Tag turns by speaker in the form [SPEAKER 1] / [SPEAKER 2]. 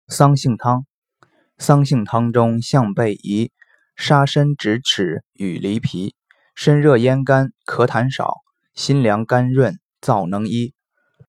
[SPEAKER 1] 桑杏汤。桑杏汤中象贝宜，沙参直齿与梨皮，身热咽干，咳痰少，心凉肝润，燥能医。